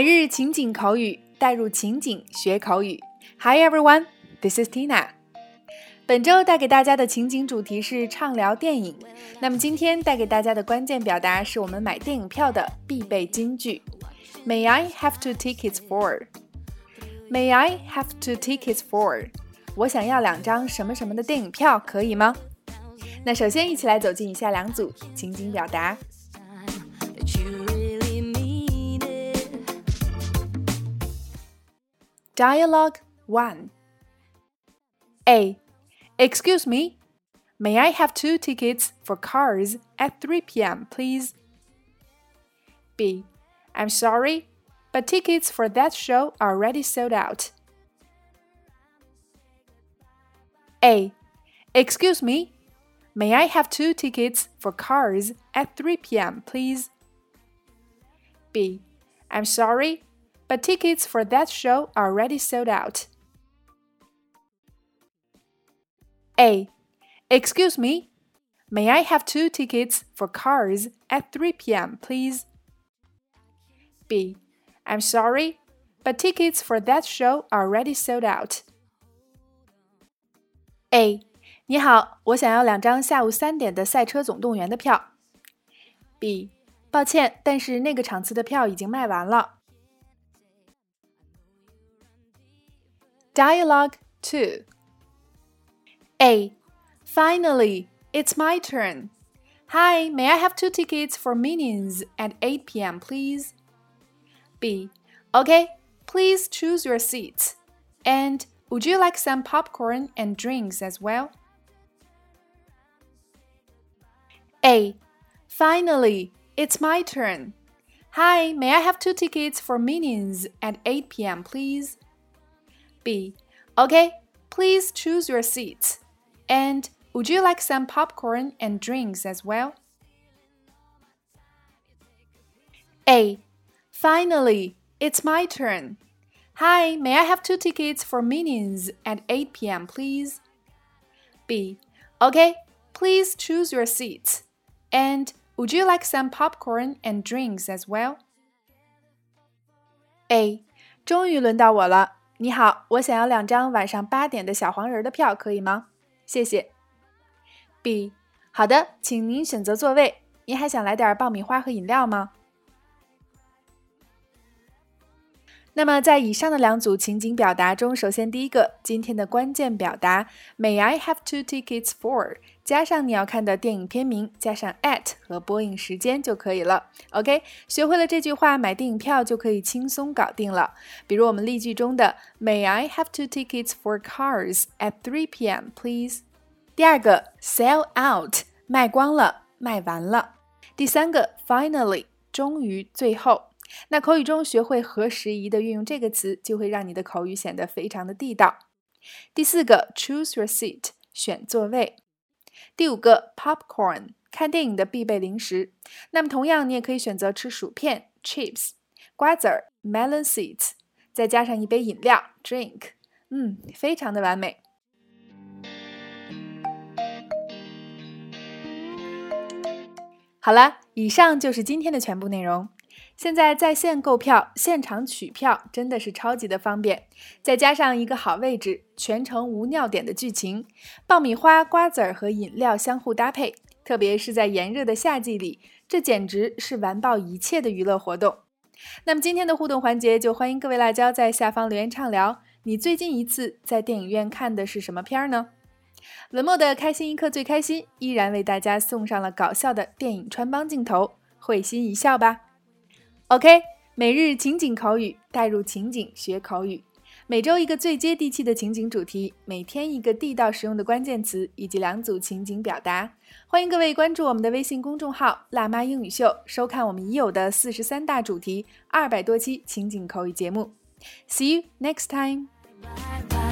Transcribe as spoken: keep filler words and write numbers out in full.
每日情景口语，带入情景学口语。Hi everyone, this is Tina. 本周带给大家的情景主题是畅聊电影。那么今天带给大家的关键表达是我们买电影票的必备金句。May I have two tickets for? May I have two tickets for? 我想要两张什么什么的电影票，可以吗？那首先一起来走进以下两组情景表达。Dialogue one. A. Excuse me, may I have two tickets for Cars at three p.m. please? B. I'm sorry, but tickets for that show are already sold out. A. Excuse me, may I have two tickets for Cars at three p.m. please? B. I'm sorry, but tickets for that show are already sold out. A. Excuse me, may I have two tickets for Cars at three p.m. please? B. I'm sorry, but tickets for that show are already sold out. A. 你好，我想要两张下午三点的赛车总动员的票。B. 抱歉，但是那个场次的票已经卖完了。Dialogue two. A. Finally, it's my turn. Hi, may I have two tickets for Minions at eight p.m. please? B. Okay, please choose your seats. And would you like some popcorn and drinks as well? A. Finally, it's my turn. Hi, may I have two tickets for Minions at eight p.m. please? B. Okay, please choose your seats. And would you like some popcorn and drinks as well? A. Finally, it's my turn. Hi, may I have two tickets for Minions at eight p.m. please? B. Okay, please choose your seats. And would you like some popcorn and drinks as well? A. 终于轮到我了。你好，我想要两张晚上八点的小黄人的票，可以吗？谢谢。B. 好的，请您选择座位。您还想来点爆米花和饮料吗？那么在以上的两组情景表达中，首先第一个，今天的关键表达 May I have two tickets for 加上你要看的电影片名，加上 at 和播映时间就可以了。 OK， 学会了这句话，买电影票就可以轻松搞定了。比如我们例句中的 May I have two tickets for Cars at three p.m. please？ 第二个 sell out 卖光了，卖完了。第三个 finally 终于，最后。那口语中学会合时宜的运用这个词，就会让你的口语显得非常的地道。第四个 choose your seat 选座位。第五个 popcorn 看电影的必备零食。那么同样你也可以选择吃薯片 chips， 瓜子儿 melon seeds， 再加上一杯饮料 drink， 嗯，非常的完美。好了，以上就是今天的全部内容。现在在线购票，现场取票真的是超级的方便，再加上一个好位置，全程无尿点的剧情，爆米花、瓜子儿和饮料相互搭配，特别是在炎热的夏季里，这简直是完爆一切的娱乐活动。那么今天的互动环节，就欢迎各位辣椒在下方留言畅聊，你最近一次在电影院看的是什么片呢？文末的开心一刻最开心依然为大家送上了搞笑的电影穿帮镜头，会心一笑吧。OK， 每日情景口语，带入情景学口语。每周一个最接地气的情景主题，每天一个地道实用的关键词，以及两组情景表达。欢迎各位关注我们的微信公众号辣妈英语秀，收看我们已有的四十三大主题，二百多期情景口语节目。See you next time. Bye bye.